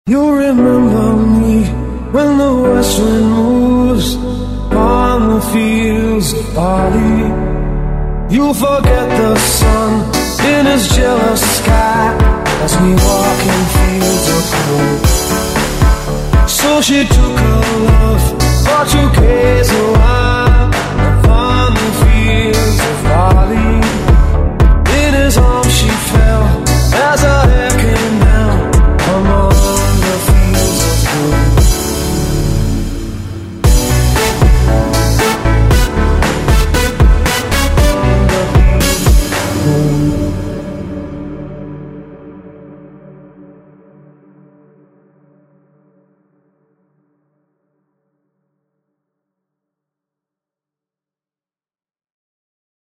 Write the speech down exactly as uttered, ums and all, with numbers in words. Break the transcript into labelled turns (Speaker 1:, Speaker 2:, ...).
Speaker 1: You remember me when the west wind moves on the fields of barley. You'll forget the sun in his jealous sky as we walk in fields of gold. So she took her love for two K's a while upon the fields of barley. In his arms she fell as her hair